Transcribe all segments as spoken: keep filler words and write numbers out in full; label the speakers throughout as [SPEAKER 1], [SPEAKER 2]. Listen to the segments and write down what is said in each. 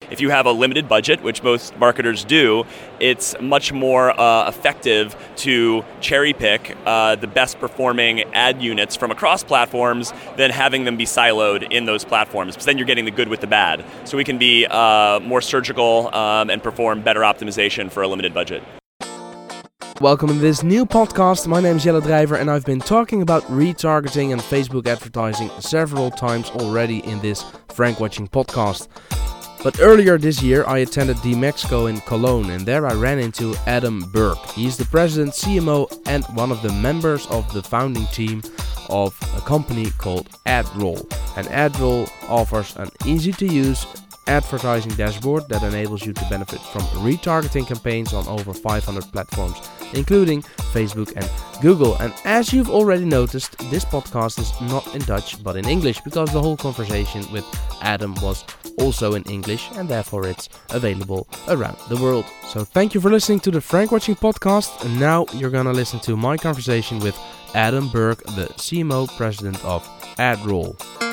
[SPEAKER 1] if you have a limited budget, which most marketers do, it's much more uh, effective to cherry pick uh, the best performing ad units from across platforms than having them be siloed in those platforms, because then you're getting the good with the bad. So we can be uh, more surgical um, and perform better optimization for a limited budget.
[SPEAKER 2] Welcome to this new podcast. My name is Jelle Drijver and I've been talking about retargeting and Facebook advertising several times already in this Frank Watching podcast. But earlier this year I attended DMEXCO in Cologne and there I ran into Adam Burke. He's the president, C M O and one of the members of the founding team of a company called AdRoll. And AdRoll offers an easy to use advertising dashboard that enables you to benefit from retargeting campaigns on over five hundred platforms, including Facebook and Google. And as you've already noticed, this podcast is not in Dutch but in English, because the whole conversation with Adam was also in English and therefore it's available around the world. So thank you for listening to the Frank Watching podcast, and now you're gonna listen to my conversation with Adam Burke, the C M O president of AdRoll.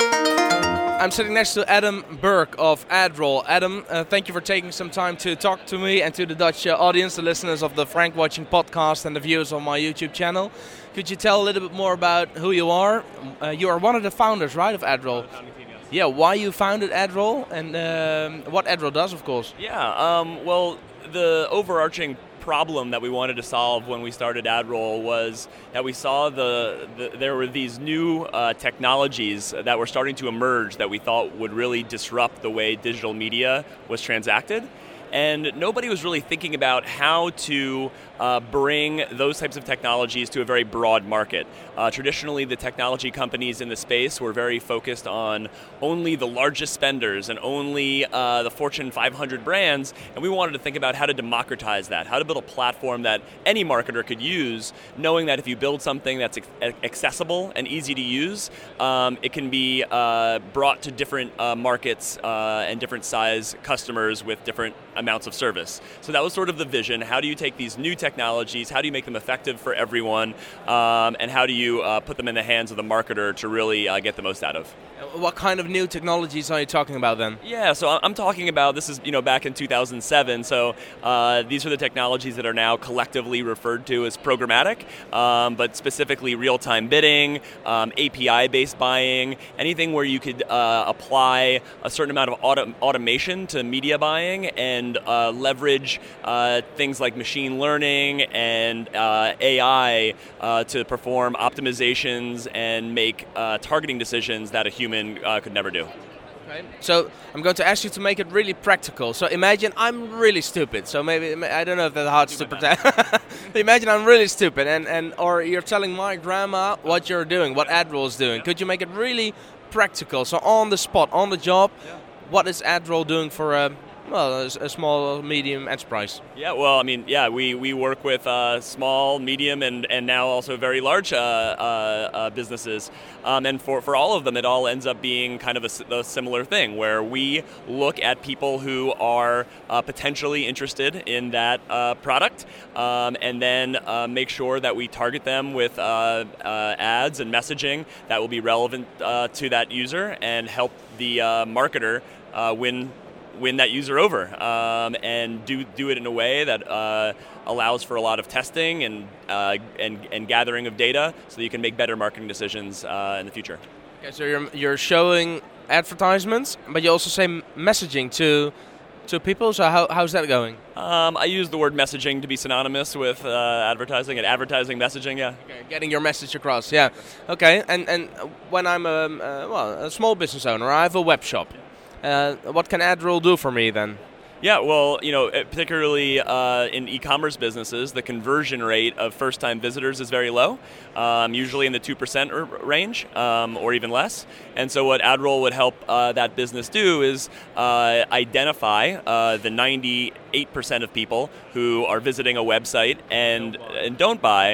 [SPEAKER 2] I'm sitting next to Adam Burke of AdRoll. Adam, uh, thank you for taking some time to talk to me and to the Dutch uh, audience, the listeners of the Frank Watching podcast and the viewers on my YouTube channel. Could you tell a little bit more about who you are? Uh, you are one of the founders, right, of AdRoll? Yeah, why you founded AdRoll and um, what AdRoll does, of course.
[SPEAKER 1] Yeah, um, well, the overarching problem that we wanted to solve when we started AdRoll was that we saw the, the there were these new uh, technologies that were starting to emerge that we thought would really disrupt the way digital media was transacted. And nobody was really thinking about how to uh, bring those types of technologies to a very broad market. Uh, traditionally, the technology companies in the space were very focused on only the largest spenders and only uh, the Fortune five hundred brands, and we wanted to think about how to democratize that, how to build a platform that any marketer could use, knowing that if you build something that's accessible and easy to use, um, it can be uh, brought to different uh, markets uh, and different size customers with different amounts of service. So that was sort of the vision. How do you take these new technologies, how do you make them effective for everyone, um, and how do you uh, put them in the hands of the marketer to really uh, get the most out of?
[SPEAKER 2] What kind of new technologies are you talking about then?
[SPEAKER 1] Yeah, so I'm talking about, this is, you know, back in two thousand seven, so uh, these are the technologies that are now collectively referred to as programmatic, um, but specifically real-time bidding, um, A P I-based buying, anything where you could uh, apply a certain amount of auto- automation to media buying and uh, leverage uh, things like machine learning and uh, A I uh, to perform optimizations and make uh, targeting decisions that a human uh, could never do.
[SPEAKER 2] Okay. So I'm going to ask you to make it really practical. So imagine I'm really stupid. So maybe, I don't know if that's hard to pretend. Imagine I'm really stupid and, and or you're telling my grandma what you're doing, what AdRoll is doing. Could you make it really practical? So on the spot, on the job, yeah. What is AdRoll doing for a Well, a, a small, medium enterprise?
[SPEAKER 1] Yeah, well, I mean, yeah, we, we work with uh, small, medium, and, and now also very large uh, uh, uh, businesses. Um, and for, for all of them, it all ends up being kind of a, a similar thing, where we look at people who are uh, potentially interested in that uh, product, um, and then uh, make sure that we target them with uh, uh, ads and messaging that will be relevant uh, to that user and help the uh, marketer uh, win win that user over, um, and do do it in a way that uh, allows for a lot of testing and uh, and and gathering of data, so that you can make better marketing decisions uh, in the future.
[SPEAKER 2] Okay, so you're you're showing advertisements, but you also say messaging to to people. So how how's that going?
[SPEAKER 1] Um, I use the word messaging to be synonymous with uh, advertising and advertising messaging. Yeah.
[SPEAKER 2] Okay, getting your message across. Yeah. Okay. And and when I'm a uh, well a small business owner, I have a web shop. Uh, what can AdRoll do for me then?
[SPEAKER 1] Yeah, well, you know, particularly uh, in e-commerce businesses, the conversion rate of first-time visitors is very low, um, usually in the two percent r- range um, or even less. And so what AdRoll would help uh, that business do is uh, identify uh, the ninety-eight percent of people who are visiting a website and, and don't buy,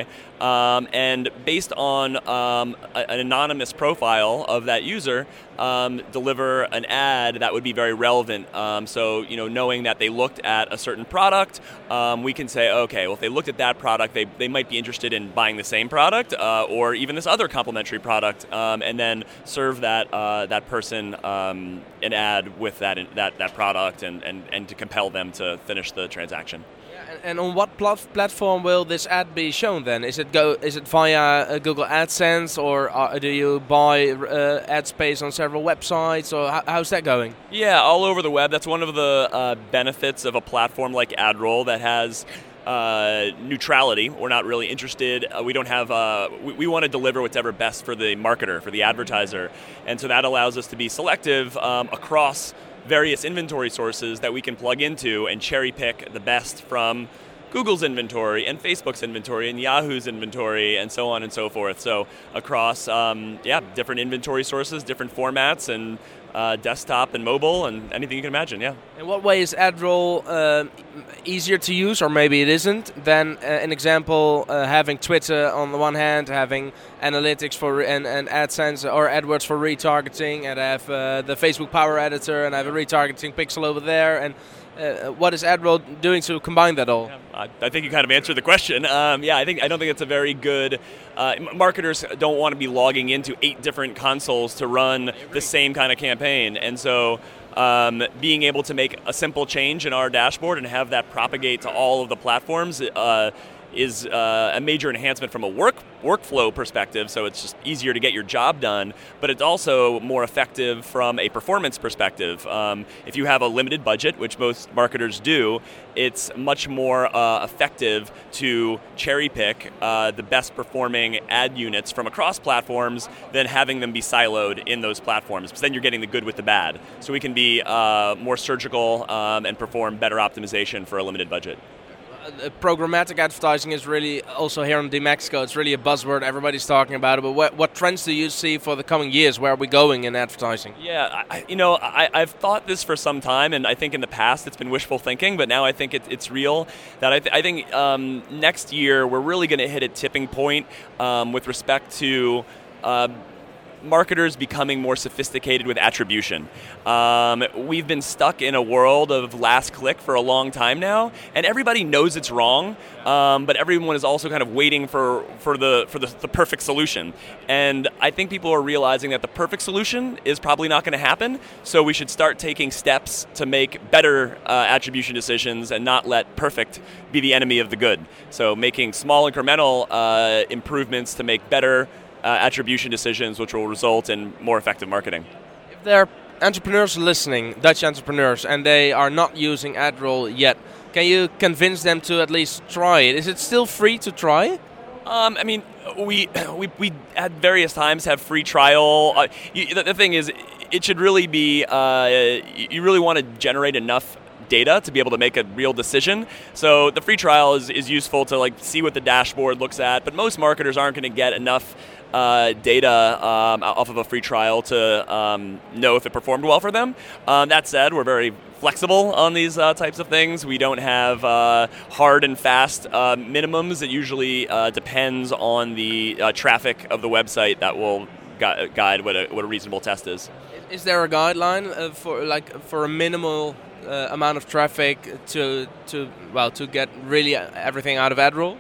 [SPEAKER 1] Um, and based on um, a, an anonymous profile of that user, um, deliver an ad that would be very relevant. Um, so, you know, knowing that they looked at a certain product, um, we can say, okay, well, if they looked at that product, they, they might be interested in buying the same product uh, or even this other complementary product, um, and then serve that uh, that person um, an ad with that that, that product and, and, and to compel them to finish the transaction.
[SPEAKER 2] And on what plat- platform will this ad be shown then? Is it go? Is it via uh, Google AdSense, or uh, do you buy uh, ad space on several websites, or how, how's that going?
[SPEAKER 1] Yeah, all over the web. That's one of the uh, benefits of a platform like AdRoll that has uh, neutrality. We're not really interested. Uh, we don't have. Uh, we, we want to deliver whatever best for the marketer, for the advertiser, and so that allows us to be selective um, across various inventory sources that we can plug into and cherry pick the best from Google's inventory and Facebook's inventory and Yahoo's inventory and so on and so forth. So across, um, yeah, different inventory sources, different formats, and uh, desktop and mobile and anything you can imagine, yeah.
[SPEAKER 2] In what way is AdRoll uh, easier to use, or maybe it isn't, than uh, an example uh, having Twitter on the one hand, having analytics for re- and, and AdSense or AdWords for retargeting, and I have uh, the Facebook Power Editor, and I have a retargeting pixel over there, and uh, what is AdRoll doing to combine that all?
[SPEAKER 1] Yeah, I, I think you kind of answered the question. Um, yeah, I think I don't think it's a very good. Uh, marketers don't want to be logging into eight different consoles to run the same kind of campaign, and so um, being able to make a simple change in our dashboard and have that propagate to all of the platforms uh, is uh, a major enhancement from a work workflow perspective, so it's just easier to get your job done, but it's also more effective from a performance perspective. Um, if you have a limited budget, which most marketers do, it's much more uh, effective to cherry pick uh, the best performing ad units from across platforms than having them be siloed in those platforms, because then you're getting the good with the bad. So we can be uh, more surgical um, and perform better optimization for a limited budget.
[SPEAKER 2] Uh, programmatic advertising is really also here in D Mexico. It's really a buzzword. Everybody's talking about it. But what, what trends do you see for the coming years? Where are we going in advertising?
[SPEAKER 1] Yeah, I, you know, I, I've thought this for some time, and I think in the past it's been wishful thinking, but now I think it, it's real. That I, th- I think um, next year we're really going to hit a tipping point um, with respect to Uh, marketers becoming more sophisticated with attribution. Um, we've been stuck in a world of last click for a long time now, and everybody knows it's wrong, um, but everyone is also kind of waiting for, for the for the, the perfect solution. And I think people are realizing that the perfect solution is probably not going to happen, so we should start taking steps to make better uh, attribution decisions and not let perfect be the enemy of the good. So making small incremental uh, improvements to make better Uh, attribution decisions, which will result in more effective marketing.
[SPEAKER 2] If there are entrepreneurs listening, Dutch entrepreneurs, and they are not using AdRoll yet, can you convince them to at least try it? Is it still free to try?
[SPEAKER 1] Um, I mean, we we we at various times have free trial. Uh, you, the, the thing is, it should really be. Uh, you really want to generate enough data to be able to make a real decision. So the free trial is, is useful to like see what the dashboard looks at, but most marketers aren't going to get enough uh, data um, off of a free trial to um, know if it performed well for them. Um, that said, we're very flexible on these uh, types of things. We don't have uh, hard and fast uh, minimums. It usually uh, depends on the uh, traffic of the website that will gu- guide what a, what a reasonable test is.
[SPEAKER 2] Is there a guideline uh, for like for a minimal Uh, amount of traffic to to well to get really everything out of AdRoll?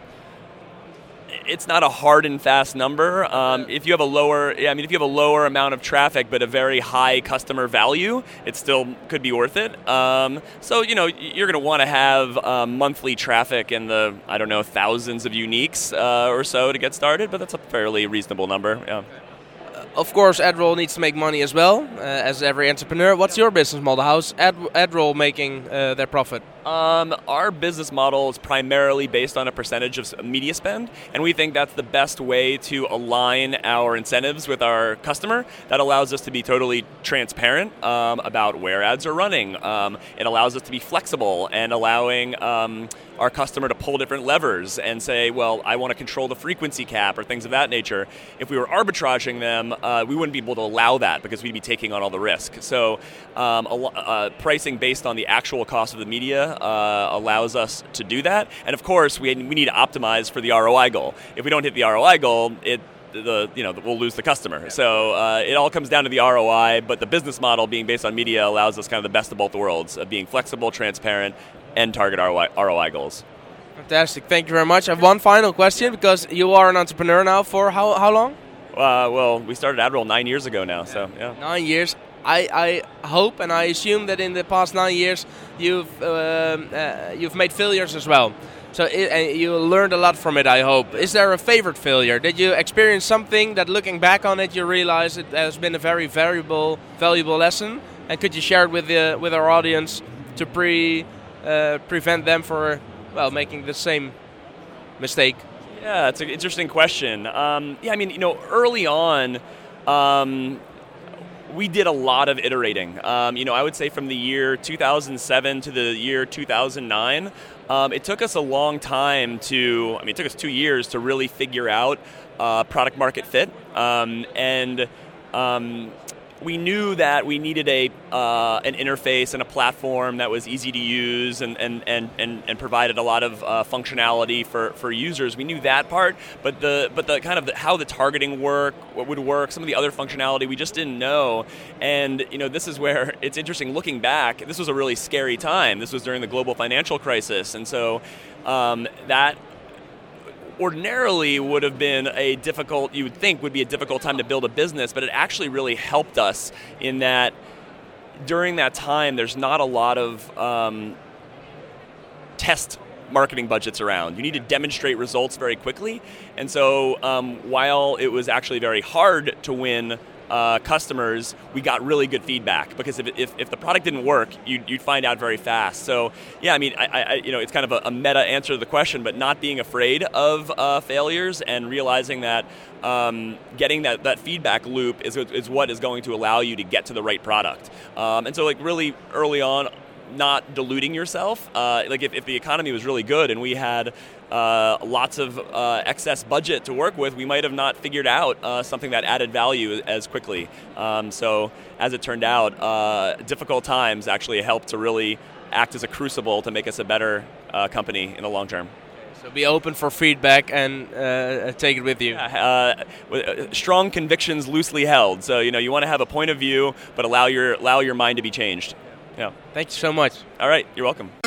[SPEAKER 1] It's not a hard and fast number. Um, if you have a lower, yeah, I mean, if you have a lower amount of traffic but a very high customer value, it still could be worth it. Um, so you know, you're going to want to have um, monthly traffic in the I don't know thousands of uniques uh, or so to get started, but that's a fairly reasonable number. Yeah.
[SPEAKER 2] Of course, AdRoll needs to make money as well, uh, as every entrepreneur. What's your business model? How's Ad, AdRoll making uh, their profit?
[SPEAKER 1] Um, our business model is primarily based on a percentage of media spend, and we think that's the best way to align our incentives with our customer. That allows us to be totally transparent um, about where ads are running. Um, it allows us to be flexible and allowing um, our customer to pull different levers and say, well, I want to control the frequency cap or things of that nature. If we were arbitraging them, uh, we wouldn't be able to allow that because we'd be taking on all the risk. So um, a, uh, pricing based on the actual cost of the media media uh, allows us to do that. And of course, we we need to optimize for the R O I goal. If we don't hit the R O I goal, it the you know we'll lose the customer. So uh, it all comes down to the R O I. But the business model being based on media allows us kind of the best of both worlds, of being flexible, transparent, and target R O I, R O I goals.
[SPEAKER 2] Fantastic. Thank you very much. I have one final question, because you are an entrepreneur now for how how long?
[SPEAKER 1] Uh, well, we started AdRoll nine years ago now, so yeah.
[SPEAKER 2] Nine years. I, I hope and I assume that in the past nine years you've um, uh, you've made failures as well. So it, uh, you learned a lot from it, I hope. Is there a favorite failure? Did you experience something that, looking back on it, you realize it has been a very valuable valuable lesson? And could you share it with the with our audience to pre uh, prevent them for well making the same mistake?
[SPEAKER 1] Yeah, it's an interesting question. Um, yeah, I mean, you know, early on, um, we did a lot of iterating. Um, you know, I would say from the year two thousand seven to the year two thousand nine, um, it took us a long time to, I mean, it took us two years to really figure out uh, product market fit. Um, and um, we knew that we needed a uh, an interface and a platform that was easy to use and and, and, and, and provided a lot of uh, functionality for, for users. We knew that part, but the but the kind of the, how the targeting work, what would work, some of the other functionality we just didn't know. And you know, this is where it's interesting looking back. This was a really scary time. This was during the global financial crisis, and so um, that. Ordinarily would have been a difficult, you would think would be a difficult time to build a business, but it actually really helped us in that during that time there's not a lot of um, test marketing budgets around. You need to demonstrate results very quickly, and so um, while it was actually very hard to win Uh, customers, we got really good feedback, because if, if, if the product didn't work, you'd, you'd find out very fast. So yeah, I mean, I, I, you know, it's kind of a, a meta answer to the question, but not being afraid of uh, failures and realizing that um, getting that, that feedback loop is, is what is going to allow you to get to the right product. Um, and so like really early on, not diluting yourself. Uh, like if, if the economy was really good and we had uh, lots of uh, excess budget to work with, we might have not figured out uh, something that added value as quickly. Um, so as it turned out, uh, difficult times actually helped to really act as a crucible to make us a better uh, company in the long term.
[SPEAKER 2] So be open for feedback and uh, take it with you.
[SPEAKER 1] Yeah, uh, strong convictions loosely held. So you know you want to have a point of view, but allow your allow your mind to be changed. Yeah.
[SPEAKER 2] Thank you so much.
[SPEAKER 1] All right, you're welcome.